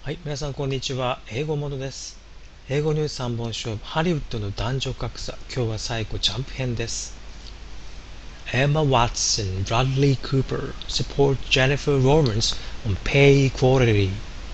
はい、皆さんこんにちは。英語ものです。英語ニュース3本勝負、ハリウッドの男女格差。今日は最後ジャンプ編です。Emma Watson, Bradley Cooper support Jennifer Lawrence on pay equality.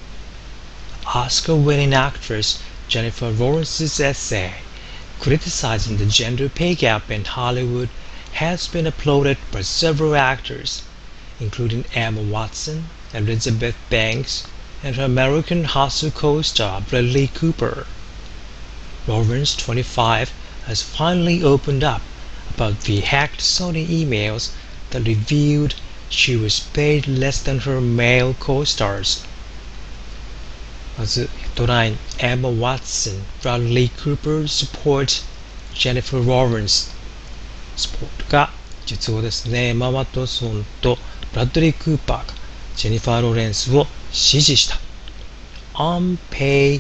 Oscar-winning actress Jennifer Lawrence's essay criticizing the gender pay gap in Hollywood has been applauded by several actors, including Emma Watson, Elizabeth Banks, and her American Hustle co-star Bradley Cooper. Lawrence, 25, has finally opened up about the hacked Sony emails that revealed she was paid less than her male co-stars. まずヘッドライン Emma Watson, Bradley Cooper support Jennifer Lawrence スポートが実語ですね。エマ・ワトソンとブラッドリー・クーパーがジェニファー・ローレンスを支持した。On pay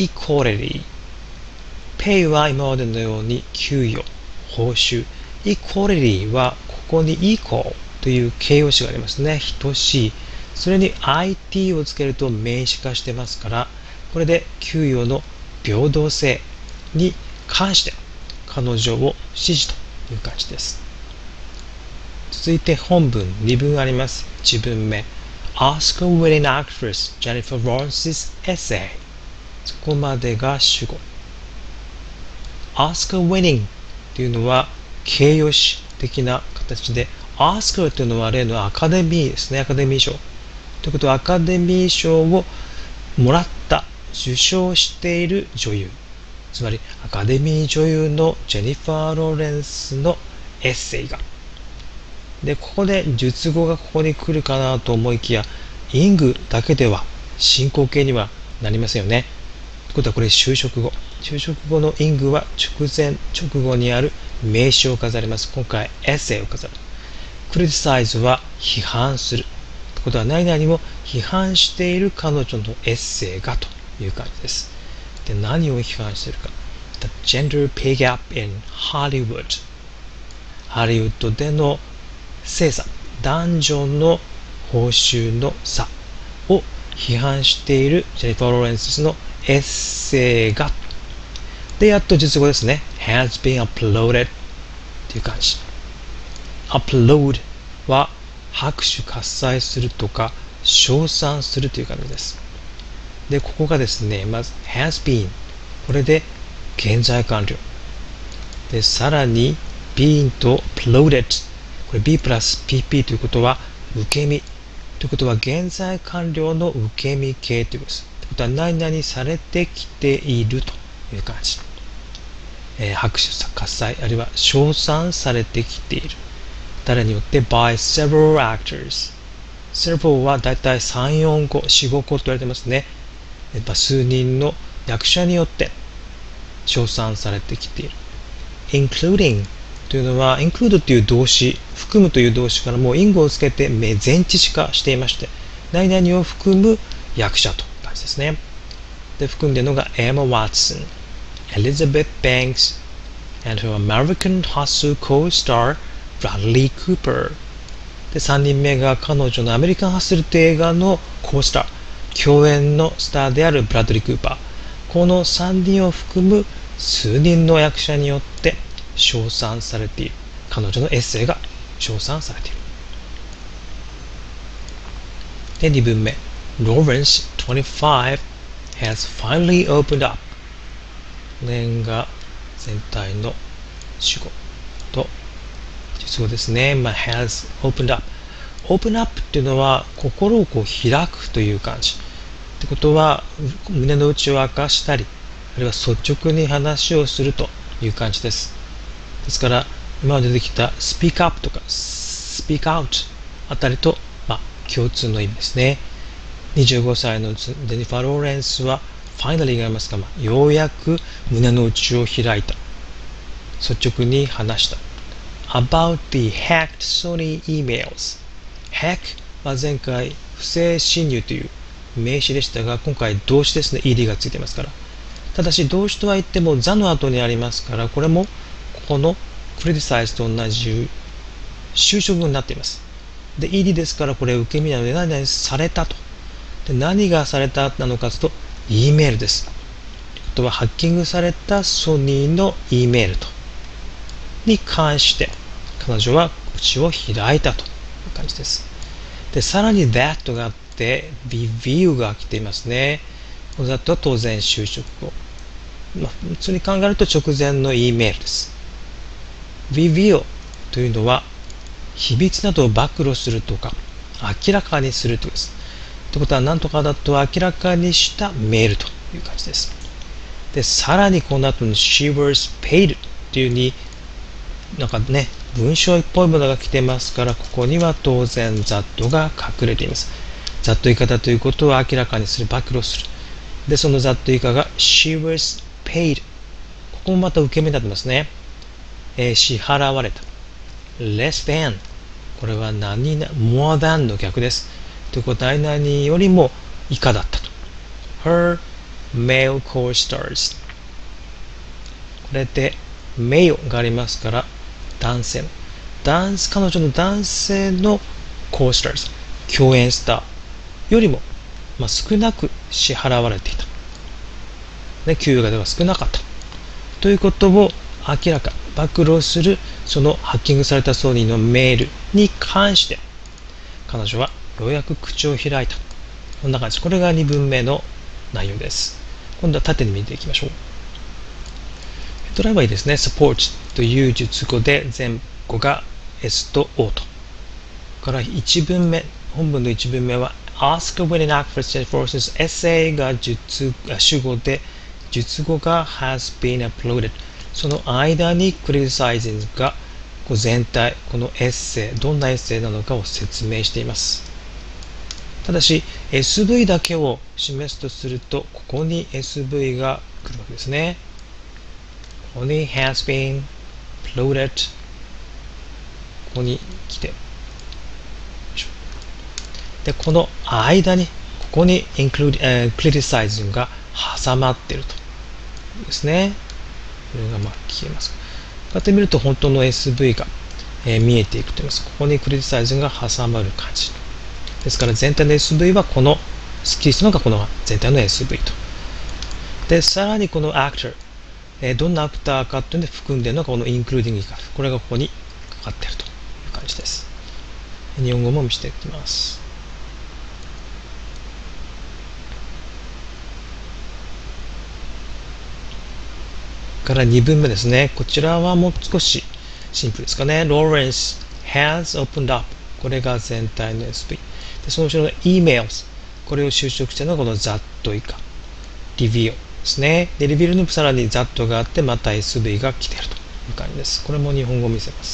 equality。pay は今までのように給与、報酬。equality はここに equal という形容詞がありますね。等しい。それに IT をつけると名詞化してますから、これで給与の平等性に関して彼女を支持という感じです。続いて本文2文あります。1文目 Oscar-winning actress Jennifer Lawrence's essay そこまでが主語。Oscar-winning というのは形容詞的な形で Oscar というのは例のアカデミーですね。アカデミー賞ということはアカデミー賞をもらった受賞している女優、つまりアカデミー女優のジェニファー・ローレンスのエッセイがで、ここで述語がここに来るかなと思いきや、イングだけでは進行形にはなりませんよね。ということはこれ修飾語。修飾語のイングは直後にある名詞を飾ります。今回エッセイを飾る。criticize は批判する。ということは何々を批判している彼女のエッセイがという感じです。で、何を批判しているか。The gender pay gap in Hollywood。ハリウッドでの性差、男女の報酬の差を批判しているジェニファー・ローレンスのエッセイがで、やっと述語ですね。has been uploaded という感じ。upload は拍手喝采するとか称賛するという感じです。で、ここがですね、まず has been これで現在完了で、さらに been と uploadedこれ B プラス PP ということは受け身ということは現在完了の受け身形ということです。ということは何々されてきているという感じ。拍手喝采あるいは称賛されてきている。誰によって by several actors。several はだいたい3、4個、4、5個と言われてますね。数人の役者によって称賛されてきている。including というのは include という動詞、含むという動詞からもう因語をつけて前置詞化していまして、何々を含む役者という感じですね。で、含んでいるのが Emma Watson、Elizabeth Banks and her American Hustle co-star Bradley Cooper。で、3人目が彼女のアメリカンハッスルという映画のコースター、共演のスターであるブラッドリー・クーパー。この3人を含む数人の役者によって称賛されている。彼女のエッセイが称賛されている。で、2文目 Lawrence, 25, has finally opened up。この辺が全体の主語と述語ですね。has opened up。open up っていうのは心をこう開くという感じ。ってことは胸の内を明かしたり、あるいは率直に話をするという感じです。ですから今まで出てきた speak up とか speak out あたりと、共通の意味ですね。25歳のジェニファー・ローレンスはファイナリーがありますが、ようやく胸の内を開いた。率直に話した。about the hacked Sony emails。hack は前回不正侵入という名詞でしたが、今回動詞ですね。ed がついていますから。ただし動詞とは言っても the の後にありますから、これもこの criticize と同じ修飾語になっています。で、ed ですからこれ受け身なので何々されたと。 で、何がされたなのかというと、E メールです。ということは、ハッキングされたソニーの E メールに関して、彼女は口を開いたという感じです。で、さらに that があって、review が来ていますね。この that は当然就職後。普通に考えると直前の E メールです。reveal というのは、秘密などを暴露するとか、明らかにするということです。ということは、何とかだと明らかにしたメールという感じです。で、さらにこの後に she was paid というふうに、なんかね、文章っぽいものが来てますから、ここには当然 that が隠れています。that 以下だということを明らかにする、暴露する。で、その that 以下が she was paid。ここもまた受け身になってますね。支払われた。less than。これは何々、more than の逆です。ということは、何々よりも以下だったと。her male co-stars。これで、male がありますから、男性の。彼女の男性の co-stars、共演スターよりも、少なく支払われていた。給与がでは少なかった。ということを明らか、暴露する、そのハッキングされたソニーのメールに関して、彼女はようやく口を開いた。こんな感じ。これが2文目の内容です。今度は縦に見ていきましょう。ドライバーですね。support という述語で前後が S と O と。から1文目、本文の1文目は ask when an actress forces essay が主語で、述語が has been uploaded。その間に criticizing が全体、このエッセイ、どんなエッセイなのかを説明しています。ただし、SV だけを示すとすると、ここに SV が来るわけですね。ここに has been uploaded。ここに来て。で、この間に、ここにcriticizing が挟まっていると。ですね。これが消えます。こうやって見ると本当の SV が、見えていくと言います。ここにクリティサイズが挟まる感じ。ですから全体の SV はこのスッキリするのがこの全体の SV と。で、さらにこの actor、どんなアクターかというので含んでいるのがこの including 以下。これがここにかかっているという感じです。日本語も見せていきます。から2文目ですね。こちらはもう少しシンプルですかね。Lawrence has opened up。これが全体の SV。で、その後ろの emails。これを修飾しているのがこの that 以下。reveal ですね。で、reveal にさらに that があって、また SV が来ているという感じです。これも日本語を見せます。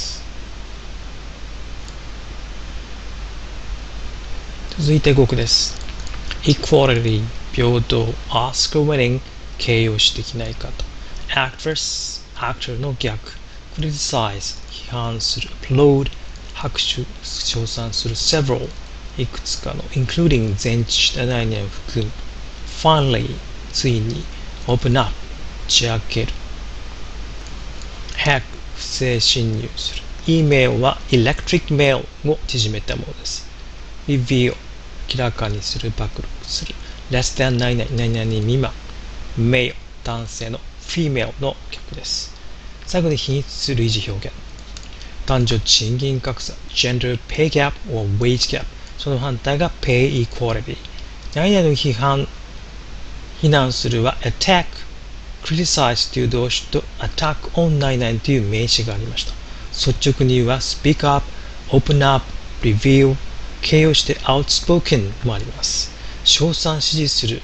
続いて語句です。equality、平等、ask winning、形容詞的な言い方。actress、actor の逆。criticize、批判する。applaud、拍手、称賛する。several、いくつかの。including、全知した内容を含む。finally、ついに。open up、打ち明ける。hack、不正侵入する。email は electric mail を縮めたものです。reveal、明らかにする、暴露する。less than 何々、何々未満。male、男性の。female の逆です。最後に品質類似表現。男女賃金格差、gender pay gap or wage gap。その反対が pay equality。何々の非難するは attack、criticize という動詞と attack on 何々という名詞がありました。率直に言うは speak up、open up、reveal、形容して outspoken もあります。称賛支持する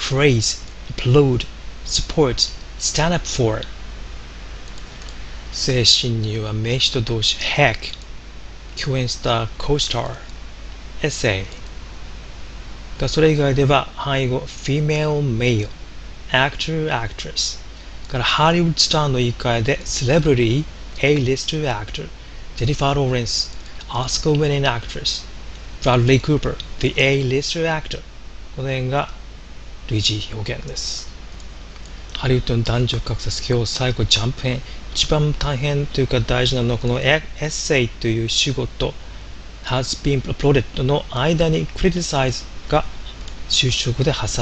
praise、applaud、support、stand up for。性侵入は名詞と動詞 hack、共演スター co-star、essay。それ以外では範囲語 female、male、actor、actress。からハリウッドスターの言い換えで celebrity、A-lister actor、Jennifer Lawrence、Oscar-winning actress、Bradley Cooper、the A-lister actor。この辺が類似表現です。ハリウッドの男女格差、今日最後ジャンプ編。一番大変というか大事なのはこのエッセイという主語と has been uploaded の間に criticize が就職で挟